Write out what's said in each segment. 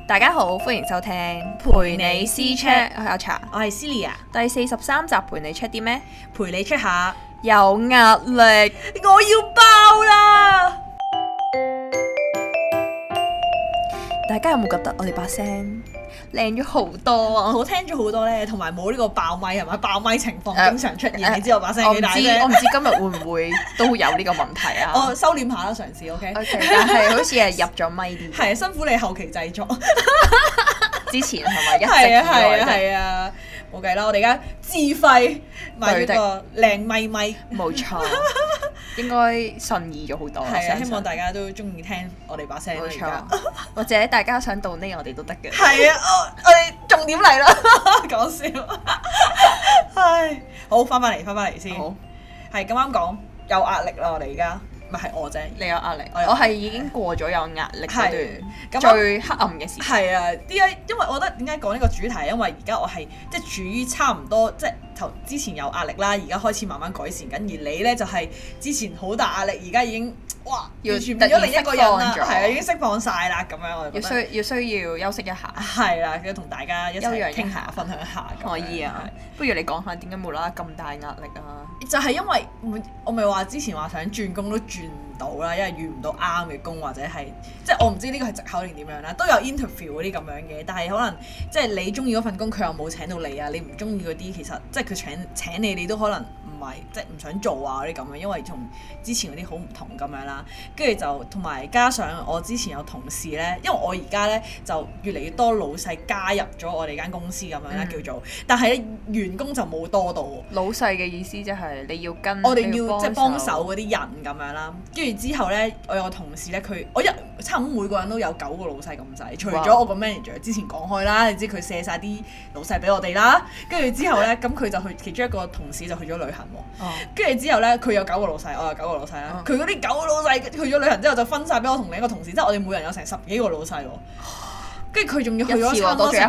大家好，歡迎收聽陪你私 check，我係阿茶， 我係 Celia， 第43集陪你 check 啲咩？ 陪你 check 下， 有壓力， 我要爆啦！ 大家有冇覺得我哋把聲靚咗好多啊？ 好聽咗好多咧，同埋冇呢個爆咪係咪？爆咪情況經常出現，你知我把聲幾大啫？ 我唔知今日會唔會都有呢個問題啊？ 我收斂下啦，嘗試 OK。 但係好似係入咗咪啲。 係辛苦你後期製作。 之前係咪一直係啊，冇計啦，我哋而家自費買咗個靚咪， 冇錯，應該順意咗好多。 係啊，希望大家都中意聽我哋把聲。 冇錯，或者大家想到呢，我哋都得嘅。 係啊，我哋重點嚟啦，講笑。唉，好，翻返嚟先。好，係咁啱講有壓力啦，我哋而家。咪係我啫， 你有壓力，我係已經過咗有壓力嗰段最黑暗嘅時間。 係啊，點解？因為我覺得點解講呢個主題？因為而家我係即係處於差唔多，即係之前有壓力啦，而家開始慢慢改善緊。而你咧就係之前好大壓力，而家已經哇完全變咗另一個人啦，係啊，已經釋放晒啦咁樣。我覺得要需要休息一下。係啦，要同大家一齊傾下、分享下。 可以啊，不如你講下點解無啦啦咁大壓力啊？ 就係因為我咪話之前話想轉工都轉唔到啦，因為遇唔到啱嘅工或者係即係我唔知呢個係藉口定點樣啦，都有 interview 嗰啲咁樣嘅，但係可能即係你中意嗰份工佢又冇請到你啊，你唔中意嗰啲其實即係佢請你都可能唔係即係唔想做啊嗰啲咁樣，因為同之前嗰啲好唔同咁樣啦，跟住就同埋加上我之前有同事咧，因為我而家咧就越嚟越多老細加入咗我哋間公司咁樣啦叫做，但係咧員工就冇多到。 老細嘅意思即係你要跟我哋要即係幫手嗰啲人咁樣啦，跟住之後咧，我有個同事咧，我差唔多每個人都有9個老細咁滯，除咗我個 manager 之前講開啦，你知佢卸晒啲老細俾我哋啦，跟住之後咧，咁佢就去其中一個同事就去咗旅行喎，跟住之後咧，佢有9個老細，我有9個老細啦，佢嗰啲9個老細去咗旅行之後就分晒俾我同另一個同事，即係我哋每人有成10幾個老細喎。跟住佢仲要去咗差唔多成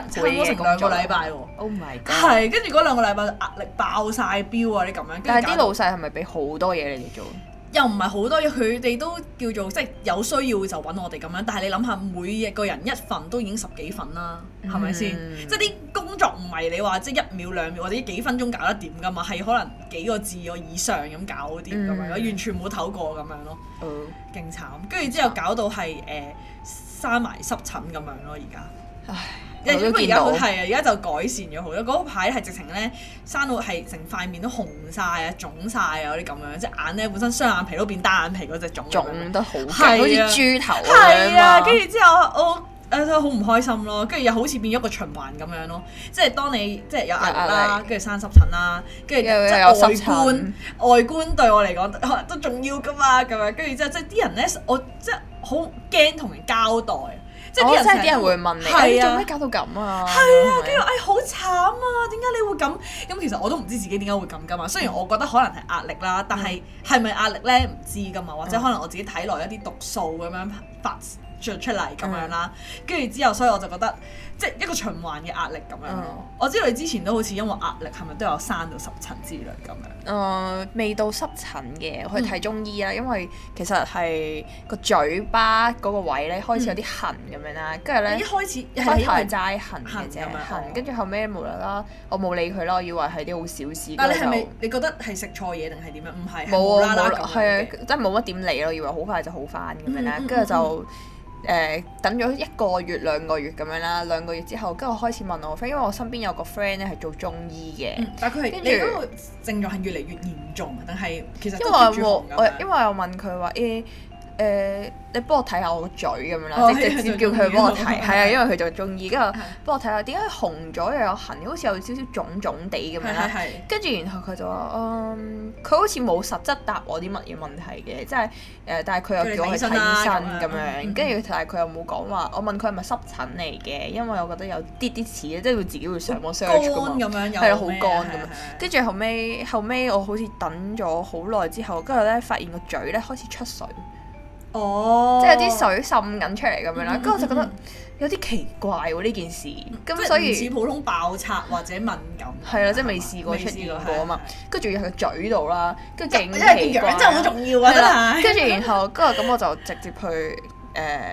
2個禮拜喎。Oh my god！ 係，跟住嗰2個禮拜壓力爆晒標啊！啲咁樣。 但係啲老細係咪俾好多嘢你哋做？ 又唔係好多嘢，佢哋都叫做即係有需要就揾我哋咁樣。但係你諗下，每個人一份都已經10幾份啦，係咪先？即係啲工作唔係你話即係1秒2秒或者幾分鐘搞得掂㗎嘛，係可能幾個字以上咁搞掂咁樣，完全冇唞過咁樣咯。勁慘！跟住之後搞到係生埋濕疹咁樣咯，而家。唉，因為而家係啊，而家就改善咗好多。嗰排係直情咧生到係成塊面都紅晒啊、腫晒啊嗰啲咁樣，即係眼咧本身雙眼皮都變單眼皮嗰隻腫得好勁，好似豬頭咁樣。 係啊，跟住之後我好唔開心咯，跟住又好似變咗個循環咁樣咯。即係當你即係有壓力啦，跟住生濕疹啦，跟住即係外觀對我嚟講都重要㗎嘛，咁樣跟住之後即係啲人咧，我即係好驚同人交代。即係啲人會問你，做咩搞到咁啊？係啊，跟住好慘啊！點解你會咁？咁其實我都唔知自己點解會咁㗎嘛。雖然我覺得可能係壓力啦，但係係咪壓力咧唔知㗎嘛？或者可能我自己體內一啲毒素咁樣發出嚟咁樣啦。跟住之後，所以我就覺得即係一個循環嘅壓力咁樣咯。我知道你之前都好似因為壓力係咪都有生到濕疹之類咁樣？ 未到濕疹嘅，我去睇中醫啦。因為其實係個嘴巴嗰個位咧開始有啲痕咁樣啦，跟住咧一開始係齋痕嘅啫，痕跟住後尾無啦啦，我冇理佢啦，我以為係啲好小事。 但你係咪你覺得係食錯嘢定係點樣？唔係， 冇啊冇，係啊，真係冇乜點理咯，以為好快就好翻咁樣啦，跟住就。等咗1個月2個月咁樣啦，2個月之後，跟住我開始問我 friend，因為我身邊有個 friend 咧係做中醫嘅， 但係佢係你嗰個症狀係越嚟越嚴重，定係其實都因為我問佢話你幫我睇下我個嘴咁樣啦，直接叫佢幫我睇，係啊，因為佢做中醫，跟住幫我睇下點解紅咗又有痕，好似有少少腫腫地咁樣啦。跟住然後佢就話佢好似冇實質答我啲乜嘢問題嘅，即係但係佢又叫我去睇醫生咁樣，跟住但係佢又冇講話。我問佢係咪濕疹嚟嘅，因為我覺得有啲似即係佢自己會上網 search 㗎嘛，係好乾咁樣。跟住後尾我好似等咗好耐之後，跟住咧發現個嘴咧開始出水。即係有啲水滲緊出嚟咁樣啦，跟住我就覺得有啲奇怪喎呢件事，咁所以唔似普通爆拆或者敏感， 係啦，即係未試過出現過啊嘛，跟住仲要係個嘴度啦，跟住勁奇怪， 因為個樣真係好重要啊，真係。 跟住然後跟住咁我就直接去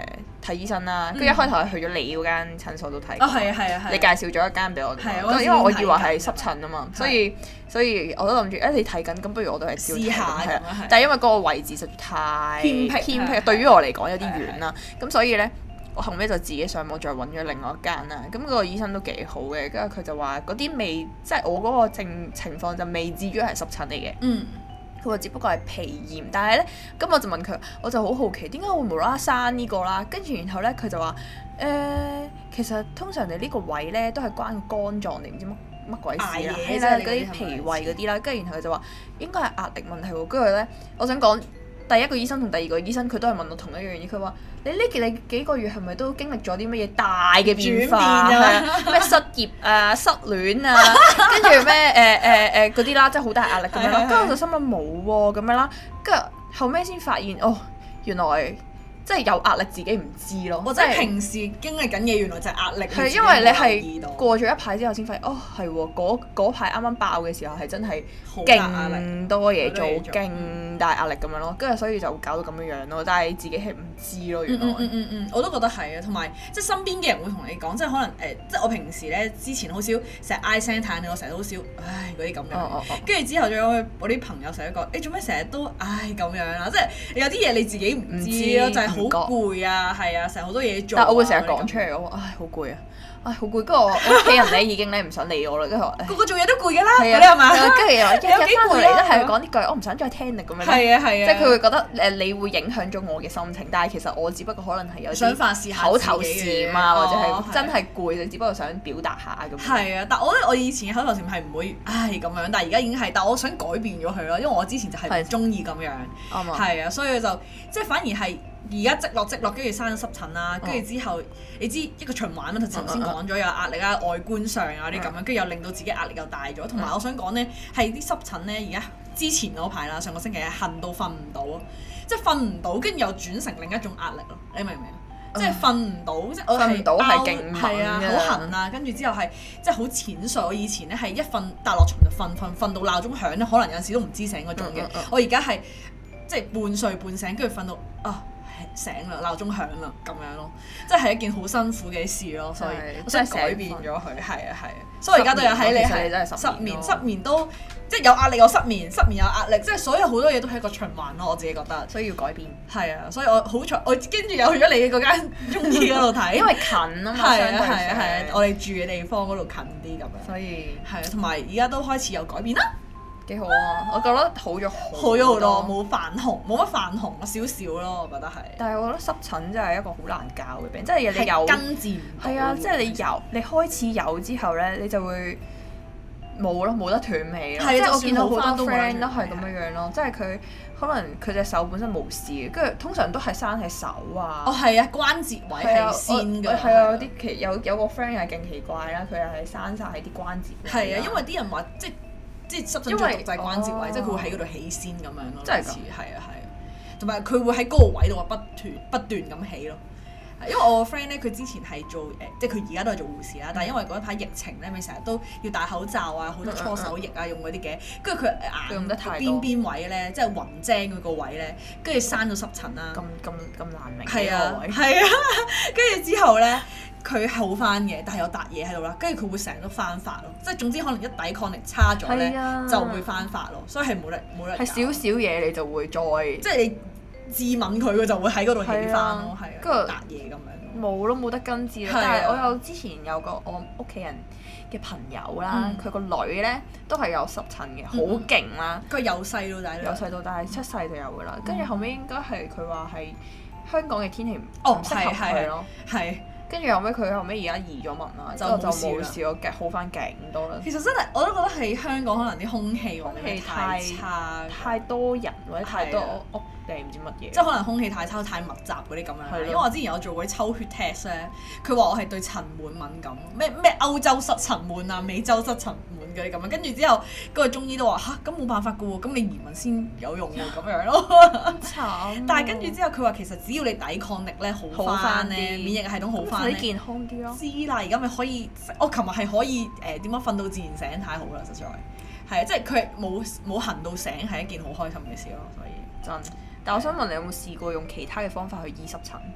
睇醫生啦，跟住一開頭係去咗你嗰間診所度睇。你介紹咗一間俾我哋，因為我以為係濕疹啊嘛，所以我都諗住你睇緊，咁不如我都係試下係啊。但係因為嗰個位置實在太偏僻，對於我嚟講有啲遠啦，咁所以咧。我後尾就自己上網再揾咗另外一間啦，咁嗰個醫生都幾好嘅，跟住佢就話嗰啲未，即係我嗰個情況就未至於係濕疹嚟嘅。佢話只不過係皮炎，但係咧，咁我就問佢，我就好好奇點解會無啦啦生呢個啦？跟住然後咧，佢就話其實通常你呢個位咧都係關肝臟定唔知乜鬼事啦，係啦，嗰啲脾胃嗰啲啦，跟住然後佢就話應該係壓力問題喎。跟住咧，我想講第一個醫生同第二個醫生佢都係問我同一樣嘢，佢話。你幾個月係咪都經歷咗啲乜嘢大嘅變化啊？咩失業啊、失戀啊，跟住咩嗰啲啦，即係好大壓力咁樣啦。跟住我就心諗冇喎咁樣啦，跟住後尾先發現原來即係有壓力自己唔知咯。 或者平時經歷緊嘢，原來就係壓力。係因為你係過咗一排之後先發現，係喎，嗰排啱啱爆嘅時候係真係勁多嘢做，勁大壓力咁樣咯。跟住所以就搞到咁樣咯，但係自己係唔知咯。原來我都覺得係啊，同埋即係身邊嘅人會同你講，即係可能即係我平時咧之前好少成日唉聲嘆氣，我成日都好少唉嗰啲咁樣。跟住之後仲有我啲朋友成日都講，你做咩成日都唉咁樣啊？即係有啲嘢你自己唔知咯，就係好攰啊，係啊，成日好多嘢做。 但係我會成日講出嚟，我話唉好攰啊！好攰，跟住我屋企人咧已經咧唔想理我啦，跟住我個個做嘢都攰㗎啦，你係嘛？ 跟住又話日日翻到嚟都係講呢句，我唔想再聽你咁樣。 係啊， 即係佢會覺得你會影響咗我嘅心情，但係其實我只不過可能係有想發泄下口頭禪啊，或者係真係攰，你只不過想表達下咁。 係啊，但我覺得我以前嘅口頭禪係唔會唉咁樣，但係而家已經係，但我想改變咗佢咯，因為我之前就係唔中意咁樣。係啊，所以就即係反而係。而家積落，跟住生咗濕疹啦，跟住之後你知一個循環啦，頭先講咗有壓力啊，外觀上啊啲咁樣，跟住又令到自己壓力又大咗，同埋我想講咧係啲濕疹咧，而家之前嗰排啦，上個星期係痕到瞓唔到，即係瞓唔到，跟住又轉成另一種壓力咯，你明唔明啊？即係瞓唔到，即係我係係啊，好痕啊，跟住之後係即係好淺睡。我以前咧係一瞓搭落床就瞓到鬧鐘響咧，可能有陣時都唔知醒嗰種嘅。我而家係即係半睡半醒，跟住瞓到醒啦，鬧鐘響啦，咁樣咯，即係一件好辛苦嘅事咯，所以我想改變咗佢，係啊，所以而家都有喺你係失眠都即係有壓力有失眠有壓力，即係所有好多嘢都係一個循環咯，我自己覺得， 所以要改變。 係啊，所以我好彩，我跟住又去咗你嗰間中醫嗰度睇， 因為近啊嘛，係啊，我哋住嘅地方嗰度近啲咁樣， 所以係啊，同埋而家都開始有改變啦。 幾好啊！我覺得好咗好多，冇泛紅，冇乜泛紅少少咯，我覺得係。 但係我覺得濕疹真係一個好難教嘅病，即係你有根治唔到。係啊，即係你開始有之後咧，你就會冇得斷尾咯。即係我見到好多 friend 都係咁樣咯，即係佢可能佢隻手本身冇事嘅，跟住通常都係生喺手啊。 係啊，關節位係先㗎。 係啊，有個 friend 又係勁奇怪啦，佢又係生晒喺啲關節位。 係啊，因為啲人話即係濕疹最毒就係關節位，即係佢會喺嗰度起先咁樣咯。 真係㗎。 係啊，同埋佢會喺嗰個位度不斷咁起咯。因為我個 friend 咧，佢之前係做即係佢而家都係做護士啦，但係因為嗰一排疫情咧，咪成日都要戴口罩啊，好多搓手液啊，用嗰啲嘅，跟住佢眼邊位咧，即係雲精嗰個位咧，跟住生咗濕疹啦。 咁難明。 係啊，跟住之後咧。佢好翻嘅，但係有笪嘢喺度啦，跟住佢會成日都翻發咯，即係總之可能一抵抗力差咗咧，就會翻發咯，所以係冇得。係少少嘢你就會再， 即係你致敏佢就會喺嗰度起翻咯，係啊，跟住笪嘢咁樣。 冇得根治啦，但係我有之前有個我屋企人嘅朋友啦，佢個女咧都係有濕疹嘅，好勁啦。 佢由細到大出世就有噶啦，跟住後尾應該係佢話係香港嘅天氣唔適合佢咯， 係。 跟住後尾佢後尾而家移咗民啦，就冇事咯，好翻勁多啦。 其實真係我都覺得係香港可能啲空氣太差， 太多人或者太多屋定唔知乜嘢。 即係可能空氣太差、太密集嗰啲咁樣。因為我之前有做過啲抽血 test 咧，佢話我係對塵蟎敏感，咩歐洲濕塵蟎啊、美洲濕塵蟎嗰啲咁樣。跟住之後嗰個中醫都話嚇，咁冇辦法噶喎，咁你移民先有用喎咁樣咯。 慘！ 但係跟住之後佢話其實只要你抵抗力咧好翻咧，免疫系統好翻。 你健康啲咯。 知啦，而家咪可以，我琴日係可以點樣瞓到自然醒，太好啦，實在係啊！即係佢冇痕到醒係一件好開心嘅事咯，所以真。但我想問你有冇試過用其他嘅方法去醫濕疹？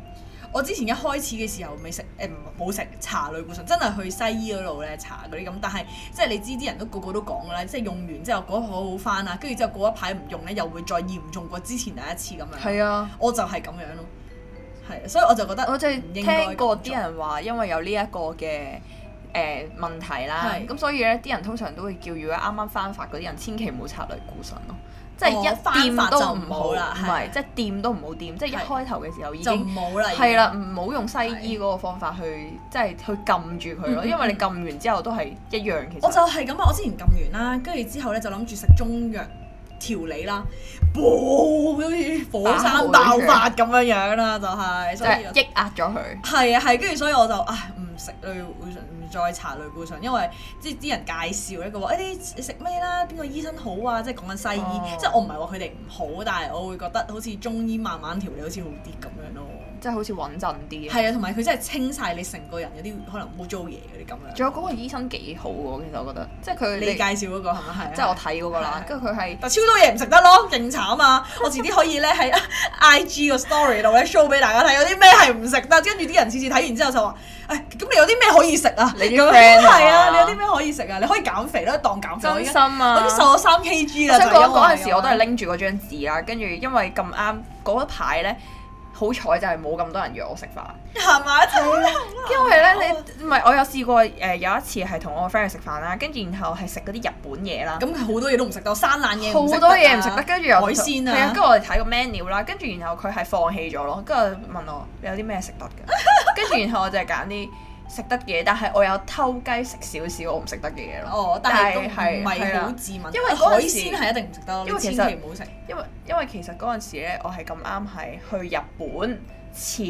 我之前一開始嘅時候未食冇食搽類固醇，真係去西醫嗰度咧搽嗰啲咁，但係即係你知啲人都個個都講㗎啦，即係用完之後嗰一排好翻啊，跟住之後過一排唔用咧又會再嚴重過之前第一次咁樣。 係啊， 我就係咁樣咯，係，所以我就覺得我就係聽過啲人話，因為有呢一個嘅問題啦，咁所以咧啲人通常都會叫如果啱啱翻發嗰啲人，千祈唔好搽類固醇咯。即係一掂都唔好啦，唔係即係掂都唔好掂，即係一開頭嘅時候已經就唔好啦， 係啦，唔好用西醫嗰個方法去即係去撳住佢咯，因為你撳完之後都係一樣。其實我就係咁啊！我之前撳完啦，跟住之後咧就諗住食中藥調理啦，好似火山爆發咁樣樣啦，就係即係抑壓咗佢。 係啊係，跟住所以我就唔食類固醇，唔再搽類固醇，因為即係啲人介紹咧，佢話你食咩啦？邊個醫生好啊？即係講緊西醫，即係我唔係話佢哋唔好，但係我會覺得好似中醫慢慢調理好似好啲咁樣咯。 即係好似穩陣啲。 係啊，同埋佢真係清晒你成個人有啲可能污糟嘢嗰啲咁樣。 仲有嗰個醫生幾好喎，其實我覺得，即係佢你介紹嗰個係咪係？ 即係我睇嗰個啦，跟住佢係但超多嘢唔食得咯，勁慘啊！我遲啲可以咧喺 IG 個 story 度咧 show 俾大家睇，有啲咩係唔食得，跟住啲人次次睇完之後就話：咁你有啲咩可以食啊？ 你啲 friend 係啊，你有啲咩可以食啊？你可以減肥啦，當減肥。 真心啊！ 我已經瘦咗3 kg 啦。 我想講嗰陣時我都係拎住嗰張紙啦，跟住因為咁啱嗰一排咧。好彩就係冇咁多人約我食飯， 行埋一齊。 因為咧你唔係我有試過有一次係同我個 friend 去食飯啦，跟住然後係食嗰啲日本嘢啦。 咁好多嘢都唔食得，生冷嘢好多嘢唔食得，跟住又海鮮啊。 係啊，跟住我哋睇個 menu 啦，跟住然後佢係放棄咗咯，跟住問我你有啲咩食得嘅，跟住然後我就係揀啲食得嘅，但係我有偷雞食少少我唔食得嘅嘢咯。 哦，但係都唔係好自問， 因為海鮮係一定唔食得， 因為其實千祈唔好食。 因為其實嗰陣時咧，我係咁啱係去日本前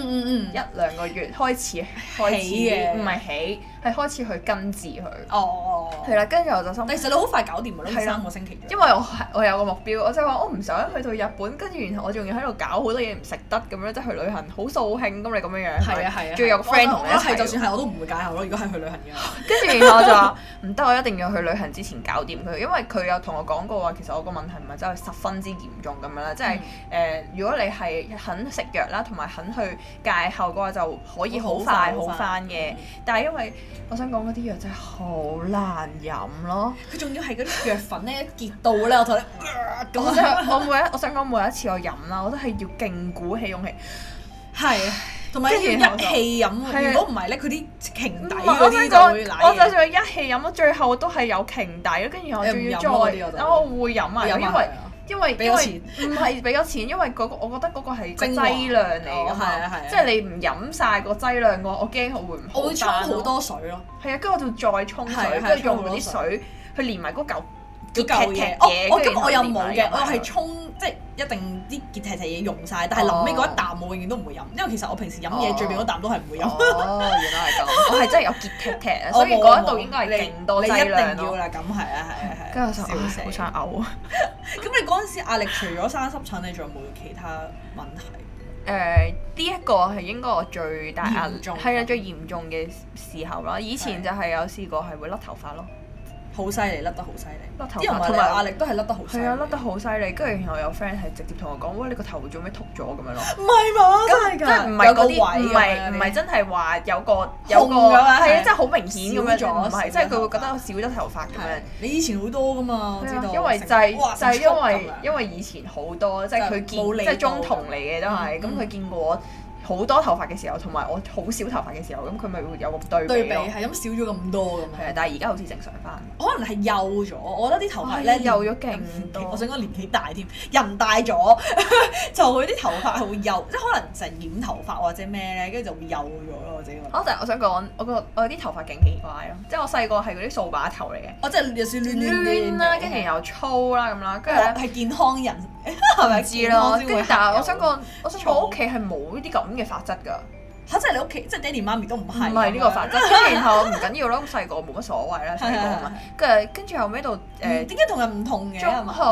1-2個月開始嘅，唔係起係開始去根治佢。 哦， 係啦，跟住我就心。 但其實你好快搞掂㗎啦，3個星期。 因為我有個目標，我就話我唔想去到日本，跟住然後我仲要喺度搞好多嘢唔食得咁樣，即係去旅行好掃興咁你咁樣樣。係啊係啊。仲要有個 friend 同你一齊。 就算係我都唔會戒口咯，如果係去旅行嘅。 跟住然後我就話唔得，我一定要去旅行之前搞掂佢，因為佢有同我講過話，其實我個問題唔係真係十分之嚴重咁樣啦，即係如果你係肯食藥啦，同埋肯去戒後嘅話，就可以好快好翻嘅。但係因為我想講嗰啲藥真係好難飲咯， 佢仲要係嗰啲藥粉咧結到咧，我同你我想講每一次我飲啦，我都係要勁鼓起勇氣， 係啊，同埋要一氣飲。如果唔係咧，佢啲鰭底嗰啲就會瀨嘢。 我就算一氣飲咯，最後都係有鰭底咯，跟住我仲要再，我會飲啊，因為俾咗錢，唔係俾咗錢，因為我覺得嗰個係個劑量嚟㗎嘛，即係你唔飲晒個劑量嘅話，我驚我會唔好。 我會沖好多水咯。 係啊，跟住我就再沖水，跟住用嗰啲水去連埋嗰嚿嘢。 咁我又冇嘅，我係沖即係一定啲結踢嘢用晒，但係臨尾嗰一啖我永遠都唔會飲，因為其實我平時飲嘢最尾嗰啖都係唔會飲。 哦，原來係咁，我係真係有結踢踢啊，所以嗰一度應該係勁多劑量咯。 你一定要啦，咁係啊係啊係。 跟住我就好想嘔啊！ 咁你嗰陣時壓力除咗生濕疹，你仲有冇其他問題？ 呢一個係應該我最大壓力，係啊最嚴重嘅時候啦。以前就係有試過係會甩頭髮咯。 好犀利，甩得好犀利。 甩頭髮同埋壓力都係甩得好犀利。 係啊，甩得好犀利。跟住然後有 friend 係直接同我講：喂，你個頭做咩禿咗咁樣咯？ 唔係嘛？真係㗎。 即係唔係嗰啲，唔係真係話有個係啊，即係好明顯咁樣咗。唔係，即係佢會覺得我少咗頭髮咁樣。 你以前好多㗎嘛？我知道。 因為就係因為以前好多，即係佢見即係中同嚟嘅都係，咁佢見過我好多頭髮嘅時候，同埋我好少頭髮嘅時候，咁佢咪會有個對比咯。 係咁少咗咁多咁樣。 係啊，但係而家好似正常翻。 可能係幼咗，我覺得啲頭髮咧幼咗勁多。 我想講年紀大添，人大咗就佢啲頭髮係會幼，即係可能成染頭髮或者咩咧，跟住就會幼咗咯。我自己覺得。我想講，我啲頭髮勁奇怪咯，即係我細個係嗰啲掃把頭嚟嘅。我即係有少亂啦，跟住又粗啦咁啦，跟住咧係健康人係咪知咯？但係我想講我屋企係冇呢啲咁嘅髮質㗎。 嚇！即係你屋企，即係爹哋媽咪都唔係呢個髮質，跟住然後唔緊要咯。咁細個冇乜所謂啦，細個係咪？跟住後尾到點解同人唔同嘅？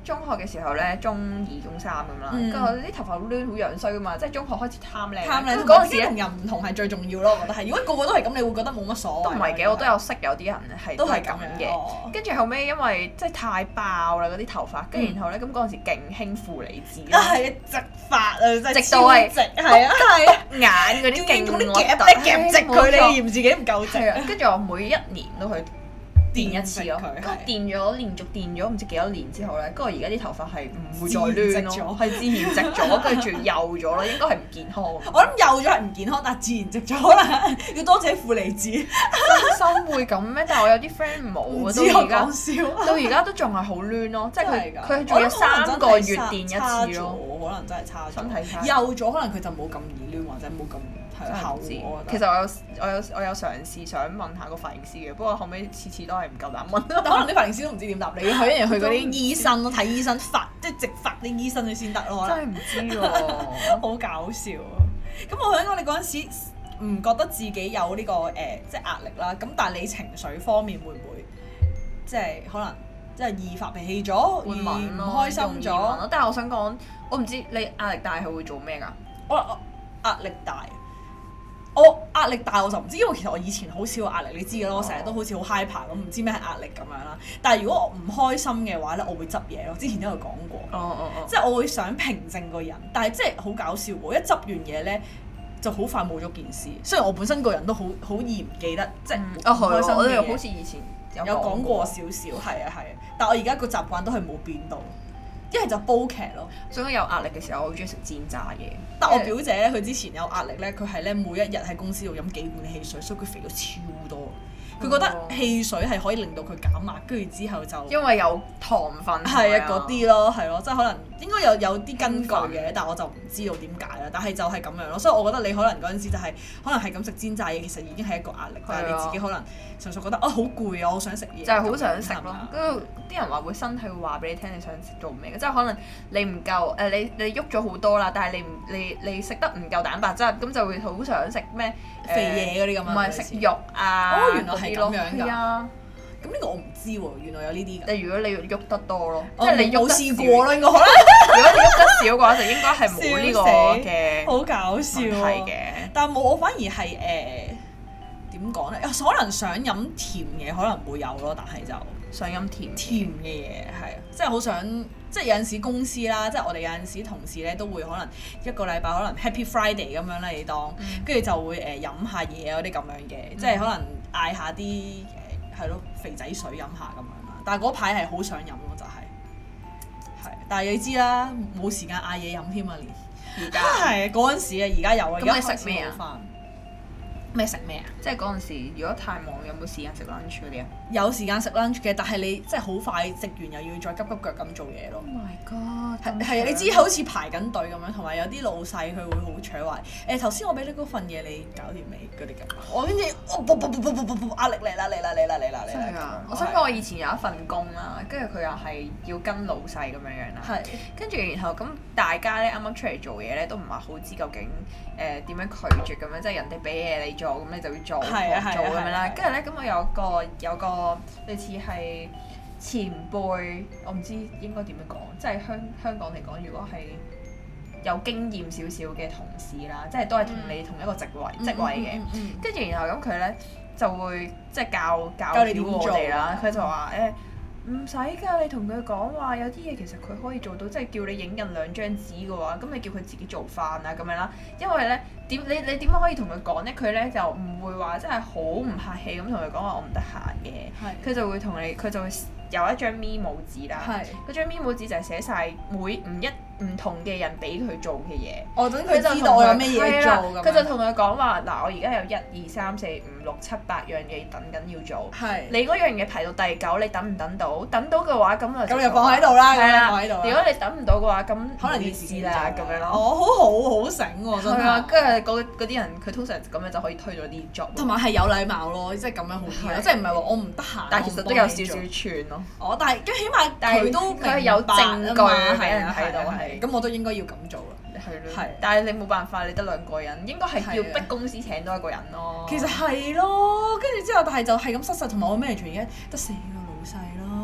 中學嘅時候咧，中2、中3咁啦，跟住我啲頭髮好亂好樣衰噶嘛，即係中學開始貪靚。 嗰陣時同人唔同係最重要咯，我覺得係。如果個個都係咁，你會覺得冇乜所謂。 都唔係嘅，我都有識有啲人係都係咁嘅。跟住後尾因為即係太爆啦嗰啲頭髮，跟住然後咧咁嗰陣時勁興負離子啦。 係直髮啊，真係直到係直係啊係啊， 眼嗰啲勁嗰啲夾直佢，你嫌自己唔夠直。 跟住我每一年都去電一次咯，跟住連續電咗唔知幾多年之後咧，跟住而家啲頭髮係唔會再亂咯，係自然直咗，跟住幼咗咯，應該係唔健康。 我諗幼咗係唔健康，但係自然直咗啦，要多謝負離子。 真心會咁咩？但係我有啲 friend 冇啊，到而家都仲係好亂咯，即係佢仲有3個月電一次咯， 可能真係差咗， 身體差。 幼咗可能佢就冇咁易亂或者冇咁。 後知，其實我有嘗試想問下個髮型師嘅，不過後尾次都係唔夠膽問。 但可能啲髮型師都唔知點答你，佢一樣去嗰啲醫生咯，睇醫生即係直髮啲醫生你先得咯。 真係唔知喎， 好搞笑啊！咁我想講你嗰陣時唔覺得自己有呢個即係壓力啦，咁但係你情緒方面會唔會即係可能即係易發脾氣咗，易唔開心咗？ 但係我想講，我唔知你壓力大係會做咩㗎？ 我壓力大。我壓力大我就唔知，因為其實我以前好少有壓力，你知嘅咯，我成日都好似好 hyper 咁，唔知咩係壓力咁樣啦。但係如果我唔開心嘅話咧，我會執嘢咯。之前都有講過，即係我會想平靜個人，但係即係好搞笑喎！一執完嘢咧，就好快冇咗件事。雖然我本身個人都好易唔記得，即係唔開心嘅嘢。好似以前有講過少少，係啊。但係我而家個習慣都係冇變到。一係就煲劇咯，所以有壓力嘅時候，我好中意食煎炸嘢。但我表姐咧，佢之前有壓力咧，佢係咧每一日喺公司度飲幾罐汽水，所以佢肥咗超多。佢覺得汽水係可以令到佢減壓，跟住之後就因為有糖分係啊嗰啲咯，係咯，即係可能應該有啲根據嘅，但係我就唔知道點解啦。但係就係咁樣咯，所以我覺得你可能嗰陣時就係可能係咁食煎炸嘢，其實已經係一個壓力，但係你自己可能純粹覺得好攰啊，我想食嘢，就係好想食咯。跟住啲人話會身體會話俾你聽你想做咩嘅，即係可能你唔夠你喐咗好多啦，但係你食得唔夠蛋白質，咁就會好想食咩肥嘢嗰啲咁樣，唔係食肉啊。哦，原來係咁樣㗎。係啊。咁呢個我唔知喎，原來有呢啲㗎。如果你喐得多咯，即係你冇試過咯，應該可能。如果你喐得少嘅話，就應該係冇呢個嘅。好搞笑啊！係嘅，但係我反而係點講咧？可能想飲甜嘢可能會有咯，但係就想飲甜嘅嘢係啊，即係好想，即係有陣時公司啦，即係我哋有陣時同事咧都會可能一個禮拜可能 Happy Friday 咁樣啦，你當跟住就會飲下嘢嗰啲咁樣嘅，即係可能嗌下啲係咯肥仔水飲下咁樣啦。但係嗰排係好想飲咯，就係，但係你知啦，冇時間嗌嘢飲添啊，連而家係嗰陣時啊，而家有啊，而家食咩啊？咩食咩啊？即係嗰陣時，如果太忙，有冇時間食 lunch 嗰啲啊？有時間食 lunch 嘅，但係你即係好快食完又要再急急腳咁做嘢咯。Oh my god！係啊，你知好似排緊隊咁樣，同埋有啲老細佢會好搶話頭先我俾你嗰份嘢你搞掂未嗰啲咁。我跟住壓力嚟啦！真係㗎！我想講我以前有一份工啦，跟住佢又係要跟老細咁樣啦。係。跟住然後咁大家咧啱啱出嚟做嘢咧都唔係好知究竟點樣拒絕咁樣，即係人哋俾嘢你做，咁你就要做咁樣啦。跟住咧，咁我有個類似係前輩，我唔知應該點樣講，即係香港嚟講，如果係有經驗少少嘅同事啦，即係都係同你同一個職位嘅。跟住然後咁佢咧就會即係教你我哋啦。佢就話唔使㗎，你同佢講話有啲嘢其實佢可以做到，即係叫你影印2張紙嘅話，咁你叫佢自己做飯啊咁樣啦。因為咧你點樣可以同佢講咧？佢咧就唔會話真係好唔客氣咁同佢講話我唔得閒嘅。佢就會佢就會有一張 memo 紙啦。嗰張 memo 紙就係寫晒唔同嘅人俾佢做嘅嘢。等佢知道我有咩嘢做咁。佢就同佢講話嗱，我而家有1、2、3、4、5、6、7、8樣嘢等緊要做。你嗰樣嘢排到第9，你等唔等到？等到嘅話，咁就放喺度啦。係啦，如果你等唔到嘅話，咁可能要試啦咁樣咯。好醒喎，真係。係啊，跟住嗰啲人，佢通常咁樣就可以推咗啲 job。同埋係有禮貌咯，即係咁樣好啲咯，即係唔係話我唔得閒。但係其實都有少少串咯。但係起碼佢都係有證據俾人睇到係。咁我都應該要咁做啦。係，但係你冇辦法，你得2個人，應該係要逼公司請多1個人咯。其實係咯，跟住之後，但係就係咁失實，同埋我咩做而家得4個老細咯。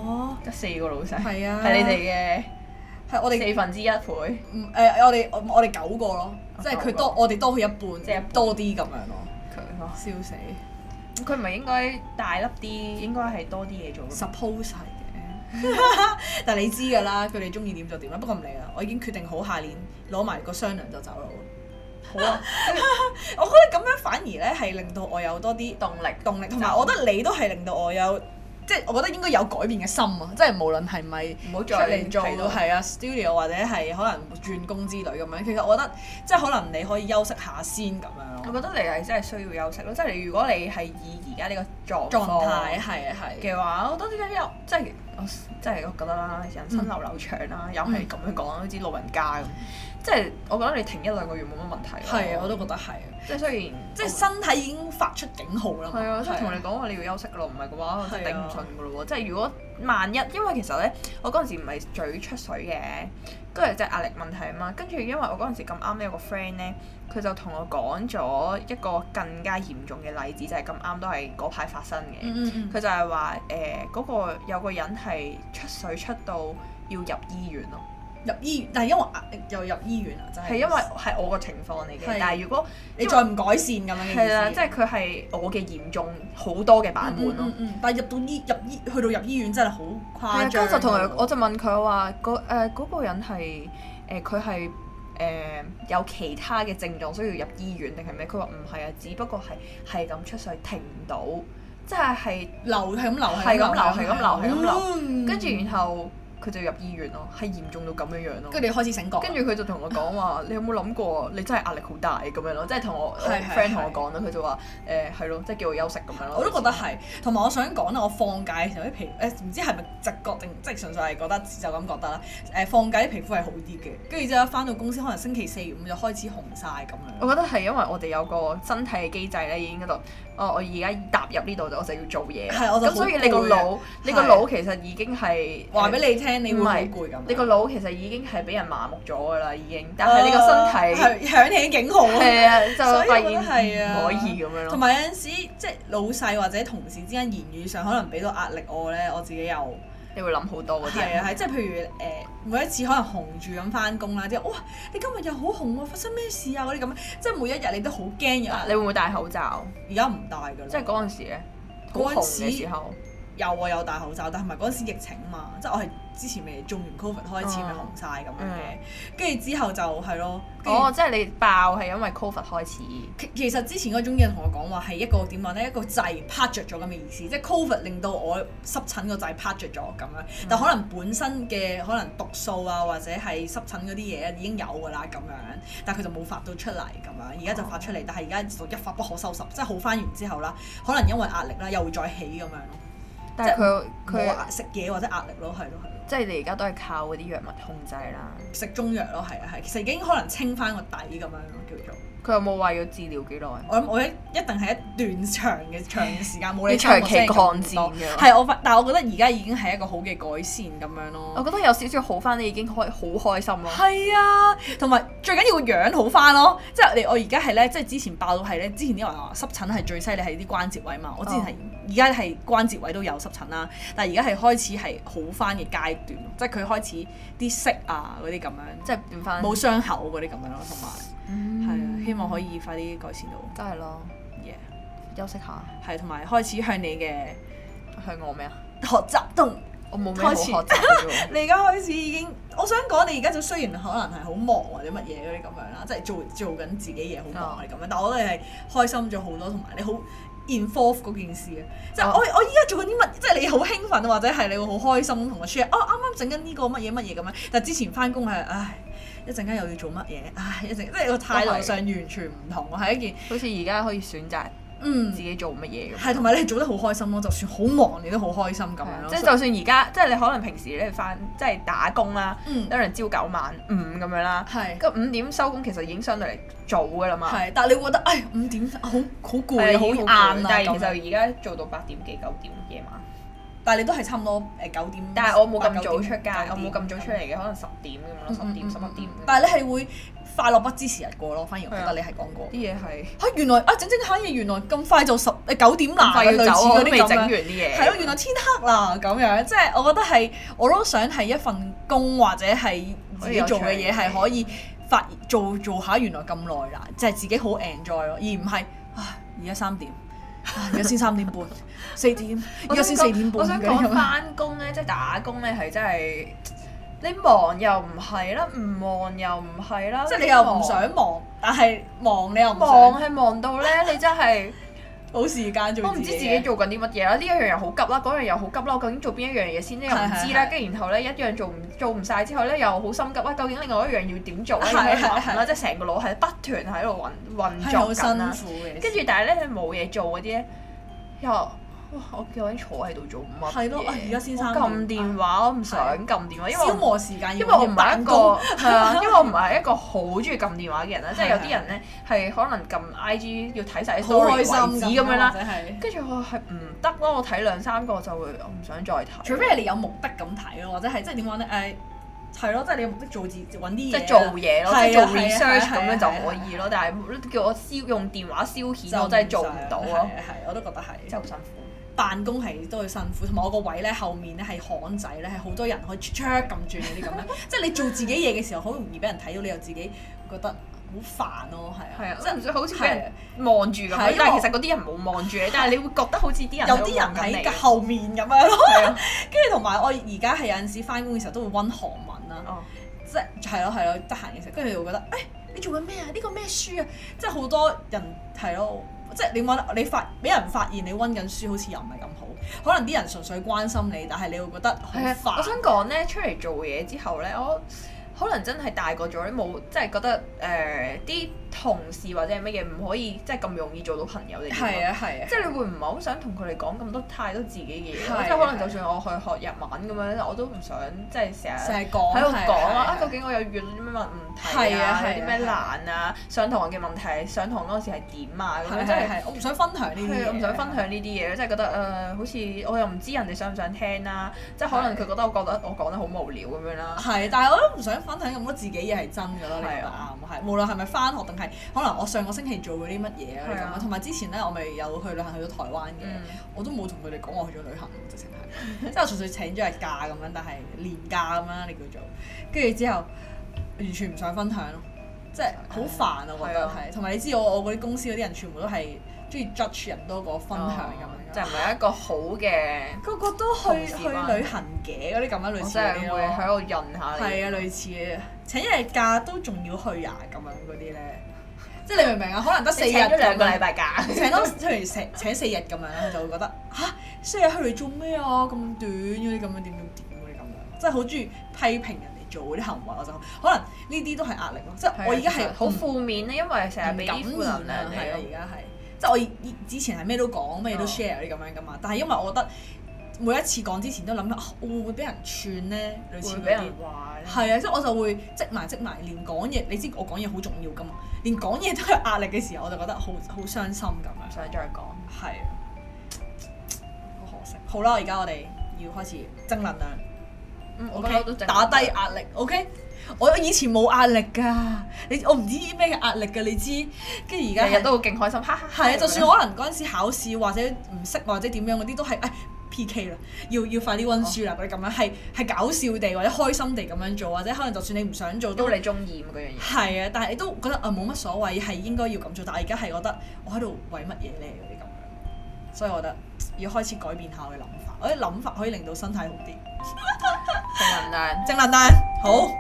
哦， 得4個老細， 係啊， 係你哋嘅係我哋 1/4一倍。 我哋9個咯，即係佢多我哋多佢一半， 即係多啲咁樣咯。 佢笑死！ 佢唔係應該大粒啲，應該係多啲嘢做。 Suppose 係嘅，但係你知㗎啦，佢哋中意點就點啦。不過唔理啦，我已經決定好下年攞埋個雙糧就走啦。 好啊， 我覺得咁樣反而咧係令到我有多啲動力，同埋我覺得你都係令到我有，即係我覺得應該有改變嘅心啊！即係無論係咪唔好再出嚟做係啊 studio 或者係可能轉工之類咁樣，其實我覺得即係可能你可以休息下先咁樣咯。 我覺得你係真係需要休息咯，即係如果你係以而家呢個狀態係嘅話，我覺得點解即係我覺得啦，人生流長啦，又係咁樣講，好似老人家咁。即係我覺得你停1-2個月冇乜問題。 係啊，我都覺得係。即係雖然即係身體已經發出警號啦。 係啊，即係同你講話你要休息咯，唔係嘅話我真係頂唔順噶咯喎。即係如果萬一，因為其實咧，我嗰陣時唔係嘴出水嘅，跟住即係壓力問題啊嘛。跟住因為我嗰陣時咁啱有個 friend 咧，佢就同我講咗一個更加嚴重嘅例子，就係咁啱都係嗰排發生嘅。佢就係話嗰個有個人係出水出到要入醫院咯。 入醫院，但係因為壓力又入醫院啊，真係。係因為係我個情況嚟嘅，但係如果你再唔改善咁樣嘅意思。係啦， 即係佢係我嘅嚴重好多嘅版本咯。 但係去到入醫院真係好誇張。 跟住就同佢，我就問佢話嗰個人係佢係有其他嘅症狀需要入醫院定係咩？佢話唔係啊，只不過係咁出水停唔到，即係流係咁流係咁流，跟住然後。佢就入醫院咯，係嚴重到咁樣樣咯。 跟住你開始醒覺。 跟住佢就同我講話：你有冇諗過你真係壓力好大咁樣咯？即係同我 friend 同我講啦，佢就話係咯，即係叫我休息咁樣咯。 我都覺得係，同埋我想講咧，我放假嘅時候啲皮唔知係咪直覺定即係純粹係覺得就咁覺得啦。放假啲皮膚係好啲嘅，跟住之後翻到公司可能星期4、5就開始紅晒咁樣。 我覺得係因為我哋有個身體嘅機制咧，已經嗰度我而家踏入呢度我就要做嘢。咁所以你個腦其實已經係話俾你聽，你會好攰咁。 你個腦其實已經係俾人麻木咗㗎啦，已經。但係你個身體係響起警號。係啊， 就發現唔可以咁樣咯。 同埋有陣時，即係老細或者同事之間言語上可能俾到壓力我咧，我自己又你會諗好多嗰啲。 係啊，係即係譬如每一次可能紅住咁翻工啦，即係哇你今日又好紅喎，發生咩事啊嗰啲咁，即係每一日你都好驚嘅。 你會唔會戴口罩？ 而家唔戴㗎啦。 即係嗰陣時咧，好紅嘅時候。有戴口罩，但係唔係嗰陣時疫情嘛，即係我係之前未中完 Covid 開始咪紅晒咁樣嘅，跟住之後就係咯。 即係你爆係因為 Covid 開始。 其實之前嗰種嘢同我講話係一個點講咧，一個掣拍着咗咁嘅意思，即係 Covid 令到我濕疹個掣拍着咗咁樣，但可能本身嘅可能毒素啊或者係濕疹嗰啲嘢已經有㗎啦咁樣，但係佢就冇發到出嚟咁樣，而家就發出嚟，但係而家就一發不可收拾，即係好翻完之後啦，可能因為壓力啦又會再起咁樣咯。 但係佢食嘢或者壓力咯，係咯。 即係你而家都係靠嗰啲藥物控制啦。 食中藥咯，係啊係，其實已經可能清翻個底咁樣咯，叫做。 佢有冇話要治療幾耐？ 我諗我一定係一段長嘅時間冇你長期抗戰嘅。 係但係我覺得而家已經係一個好嘅改善咁樣咯。 我覺得有少少好翻，你已經好開心咯。 係啊，同埋最緊要個樣好翻咯。即係我而家係咧，即係之前爆到係咧，之前啲人話濕疹係最犀利係啲關節位嘛。我之前係而家係關節位都有濕疹啦，但係而家係開始係好翻嘅階段，即係佢開始啲色啊嗰啲咁樣，即係變翻冇傷口嗰啲咁樣咯，同埋係啊，希望可以快啲改善到。 真係咯休息下。 係同埋開始向你嘅向我咩啊？ 學習同我冇咩好學習嘅啫。 你而家開始已經，我想講你而家就雖然可能係好忙或者乜嘢嗰啲咁樣啦，即係做緊自己嘢好忙嗰啲咁樣，但我覺得你係開心咗好多，同埋你好 involve 嗰件事啊！即係我依家做緊啲乜，即係你好興奮或者係你會好開心同我 share，啱啱整緊呢個乜嘢乜嘢咁樣，但係之前翻工係一陣間又要做乜嘢，即係個態度上完全唔同，係一件好似而家可以選擇自己做乜嘢咁。 係同埋你係做得好開心咯，就算好忙你都好開心咁樣咯。 即係就算而家即係你可能平時你翻即係打工啦，可能朝9晚5咁樣啦，咁5點收工其實已經相對嚟早㗎啦嘛。 係，但係你會覺得5點好攰好晏啊。 但係其實而家做到8點幾9點夜晚。 但係你都係差唔多9點。 但係我冇咁早出街，我冇咁早出嚟嘅，可能10點咁咯，10點11點。 但係你係會快樂不知時日過咯，反而我覺得你係講過啲嘢係原來整下嘢，原來咁快就9點啦， 快要走，我都未整完啲啲嘢。 係咯，原來天黑啦咁樣，即係我覺得係我都想係一份工或者係自己做嘅嘢係可以做下原來咁耐啦，即係自己好 enjoy 咯，而唔係而家3點，而家先3點半4點，而家先4點半。 我想講翻工咧，即係打工咧係真係你忙又唔係啦，唔忙又唔係啦， 即係你又唔想忙，但係忙你又唔想。 忙係忙到咧，你真係冇時間做。 我唔知自己做緊啲乜嘢啦，呢一樣又好急啦，嗰樣又好急啦，我究竟做邊一樣嘢先咧又唔知啦，跟住然後咧一樣做唔晒之後咧又好心急啦，究竟另外一樣要點做咧？要諗啦，即係成個腦係不斷喺度運作緊啦。跟住但係咧你冇嘢做嗰啲咧又。我究竟坐喺度做乜嘢？ 係咯，而家先3點。 撳電話，我唔想撳電話，因為消磨時間。 因為我唔係一個係啊，因為我唔係一個好中意撳電話嘅人啦。即係有啲人咧係可能撳 IG 要睇晒啲 story 為止咁樣啦。跟住我係唔得咯，我睇2-3個就會我唔想再睇。 除非係你有目的咁睇咯，或者係即係點講咧？係咯，即係你有目的揾啲嘢。 即係做嘢咯，即係做 research 咁樣就可以咯。但係叫我用電話消遣，我真係做唔到咯。 係，我都覺得係。 真係好辛苦。 辦公係都會辛苦，同埋我個位咧後面咧係巷仔咧，係好多人可以咁轉嗰啲咁樣，即係你做自己嘢嘅時候，好容易俾人睇到，你又自己覺得好煩咯，係啊， 即係唔想好似俾人望住咁樣，但係其實嗰啲人冇望住你，但係你會覺得好似啲人有啲人喺後面咁樣咯，跟住同埋我而家係有陣時翻工嘅時候都會温韓文啦，即係係咯，得閒嘅時候，跟住你會覺得你做緊咩啊？呢個咩書啊？即係好多人係咯。即係你俾人發現你温緊書，好似又唔係咁好。可能啲人純粹關心你，但係你會覺得好煩。 我想講咧，出嚟做嘢之後咧，我可能真係大個咗咧，冇即係覺得啲同事或者係乜嘢唔可以即係咁容易做到朋友嘅。 係啊，即係你會唔係好想同佢哋講太多自己嘅嘢？即係可能就算我去學日文咁樣，我都唔想即係成日喺度講究竟我有遇到啲咩問題啊？有啲咩難啊？上堂嘅問題，上堂嗰時係點啊？咁樣即係我唔想分享呢啲嘢。 我唔想分享呢啲嘢，即係覺得好似我又唔知人哋想唔想聽啦。即係可能佢覺得我講得好無聊咁樣啦。 係，但係我都唔想分享咁多自己嘢係真㗎咯。你覺得啱？係，無論係咪翻學定係可能我上個星期做嗰啲乜嘢啊咁樣。同埋之前咧，我咪有去旅行去咗台灣嘅，我都冇同佢哋講我去咗旅行，直情係，即係我純粹請咗日假咁樣，但係年假咁樣你叫做，跟住之後完全唔想分享咯，即係好煩啊！我覺得係，同埋你知我嗰啲公司嗰啲人全部都係中意 judge 人多過分享咁樣， 就唔係一個好嘅。 個個都去旅行嘅嗰啲咁樣類似嗰啲咯， 會喺度潤下你。 係啊，類似嘅，請一日假都仲要去呀咁樣嗰啲咧。即係你明唔明啊？可能得4日， 請咗2個禮拜假， 請請4日咁樣咧，就會覺得4日去嚟做咩啊？咁短嗰啲咁樣點嗰啲咁樣，即係好中意批評人哋做嗰啲行為，我就可能呢啲都係壓力咯。即係我而家係好負面咧，因為成日俾啲負能量。 係啊，而家係即係我之前係咩都講，咩都 share 啲咁樣噶嘛。但係因為我覺得每一次講之前都諗我會唔會俾人串咧？類似俾人話咧。係啊，即係我就會積埋，連講嘢，你知我講嘢好重要噶嘛。連講嘢都有壓力嘅時候，我就覺得好傷心咁樣。 想再講。 係啊，好可惜。好啦，而家我哋要開始正能量。 我覺得都打低壓力。OK，我以前冇壓力㗎，我唔知咩嘅壓力㗎，你知。跟住而家日日都勁開心，哈哈。 係啊，就算可能嗰陣時考試或者唔識或者點樣嗰啲都係PK 啦，要快啲溫書啦嗰啲咁樣，係搞笑地或者開心地咁樣做，或者可能就算你唔想做都你中意嗰樣嘢。係啊，但係你都覺得冇乜所謂，係應該要咁做。但係而家係覺得我喺度為乜嘢咧嗰啲咁樣，所以我覺得要開始改變下我嘅諗法。我啲諗法可以令到身體好啲。正能量，好。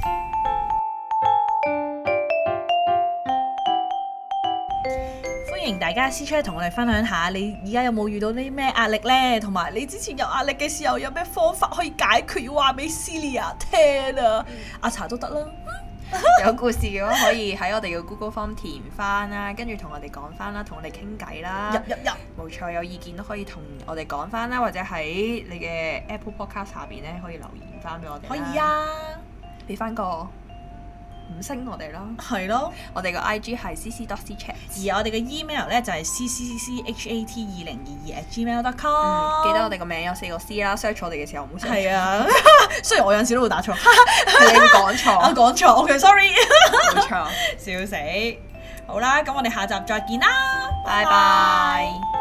歡迎大家私出同我哋分享下，你而家有冇遇到啲咩壓力呢？同埋你之前有壓力嘅時候，有咩方法可以解決？要話俾 Celia 聽啊！阿茶都得啦。 有故事嘅話，可以喺我哋嘅 Google Form 填翻啦，跟住同我哋講翻啦，同我哋傾偈啦。入。冇錯，有意見都可以同我哋講翻啦，或者喺你嘅 Apple Podcast 下邊咧可以留言翻俾我哋。 可以啊， 俾翻個 5星我哋啦。 係咯， 我哋個 IG 係 cc.cchat， 而我哋嘅 email 咧就係 ccchat2022@gmail.com。 記得我哋個名有4個 C 啦，search 我哋嘅時候唔好 search。 係啊，雖然我有陣時都會打錯， 係你講錯。 我講錯，OK，sorry。 冇錯， 笑死。好啦，咁我哋下集再見啦， 拜拜。